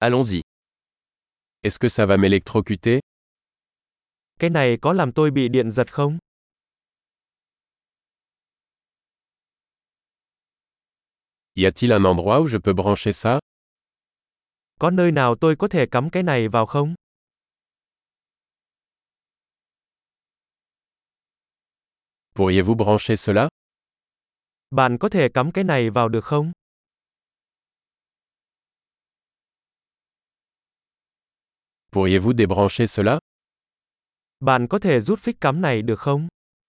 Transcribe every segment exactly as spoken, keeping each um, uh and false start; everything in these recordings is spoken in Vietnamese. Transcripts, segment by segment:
Allons-y. Est-ce que ça va m'électrocuter? Cái này có làm tôi bị điện giật không? Y a-t-il un endroit où je peux brancher ça? Có nơi nào tôi có thể cắm cái này vào không? Pourriez-vous brancher cela? Bạn có thể cắm cái này vào được không? Pourriez-vous débrancher cela? Bạn có thể rút phích cắm này được không?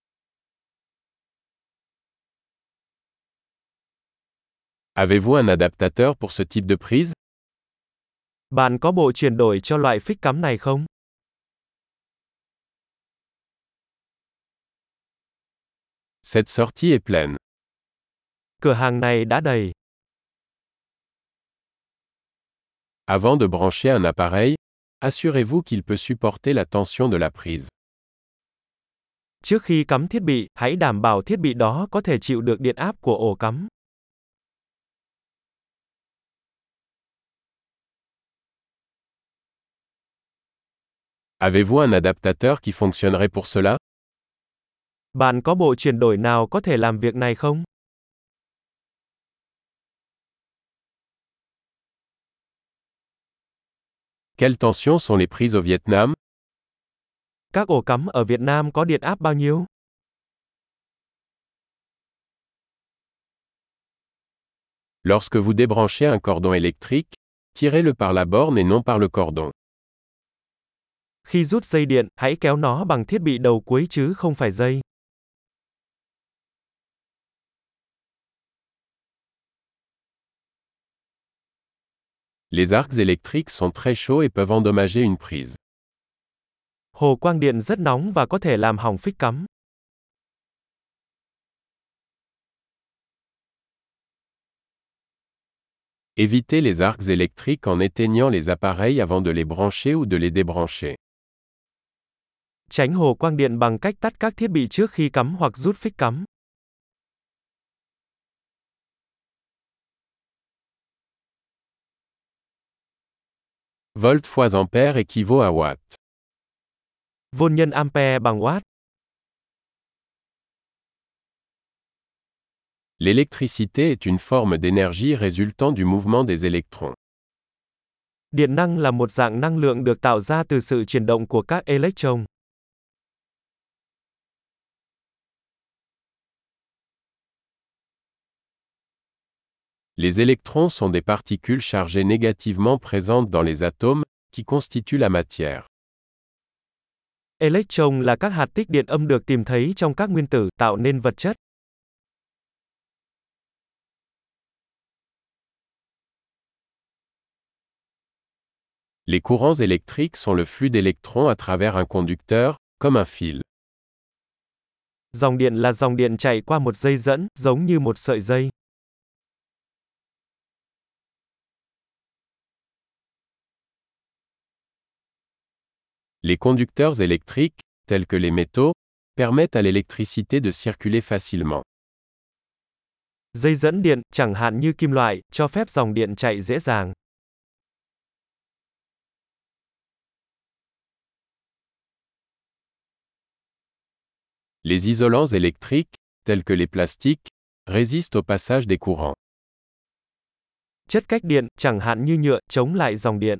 Avez-vous un adaptateur pour ce type de prise? Bạn có bộ chuyển đổi cho loại phích cắm này không? Cette sortie est pleine. Cửa hàng này đã đầy. Avant de brancher un appareil, assurez-vous qu'il peut supporter la tension de la prise. Trước khi cắm thiết bị, hãy đảm bảo thiết bị đó có thể chịu được điện áp của ổ cắm. Avez-vous un adaptateur qui fonctionnerait pour cela? Bạn có bộ chuyển đổi nào có thể làm việc này không? Quelles tensions sont les prises au Vietnam? Các ổ cắm ở Việt Nam có điện áp bao nhiêu? Lorsque vous débranchez un cordon électrique, tirez-le par la borne et non par le cordon. Khi rút dây điện, hãy kéo nó bằng thiết bị đầu cuối chứ không phải dây. Les arcs électriques sont très chauds et peuvent endommager une prise. Hồ quang điện rất nóng và có thể làm hỏng phích cắm. Évitez les arcs électriques en éteignant les appareils avant de les brancher ou de les débrancher. Tránh hồ quang điện bằng cách tắt các thiết bị trước khi cắm hoặc rút phích cắm. Volt fois ampère équivaut à watt. Vôn nhân ampere bằng watt. L'électricité est une forme d'énergie résultant du mouvement des électrons. Điện năng là một dạng năng lượng được tạo ra từ sự chuyển động của các electron. Les électrons sont des particules chargées négativement présentes dans les atomes, qui constituent la matière. Electron là các hạt tích điện âm được tìm thấy trong các nguyên tử, tạo nên vật chất. Les courants électriques sont le flux d'électrons à travers un conducteur, comme un fil. Dòng điện là dòng điện chạy qua một dây dẫn, giống như một sợi dây. Les conducteurs électriques, tels que les métaux, permettent à l'électricité de circuler facilement. Dây dẫn điện, chẳng hạn như kim loại, cho phép dòng điện chạy dễ dàng. Les isolants électriques, tels que les plastiques, résistent au passage des courants. Chất cách điện, chẳng hạn như nhựa, chống lại dòng điện.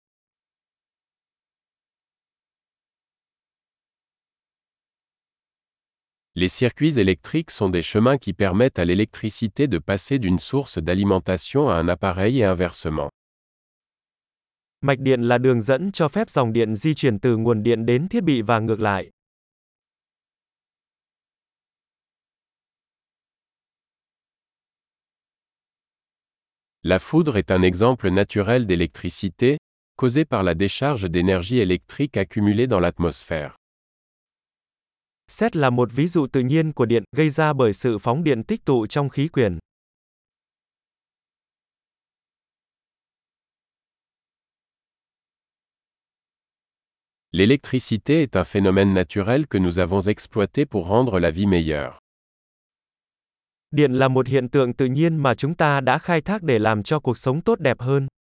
Les circuits électriques sont des chemins qui permettent à l'électricité de passer d'une source d'alimentation à un appareil et inversement. Mạch điện là đường dẫn cho phép dòng điện di chuyển từ nguồn điện đến thiết bị và ngược lại. La foudre est un exemple naturel d'électricité, causée par la décharge d'énergie électrique accumulée dans l'atmosphère. Sét là một ví dụ tự nhiên của điện, gây ra bởi sự phóng điện tích tụ trong khí quyển. L'électricité est un phénomène naturel que nous avons exploité pour rendre la vie meilleure. Điện là một hiện tượng tự nhiên mà chúng ta đã khai thác để làm cho cuộc sống tốt đẹp hơn.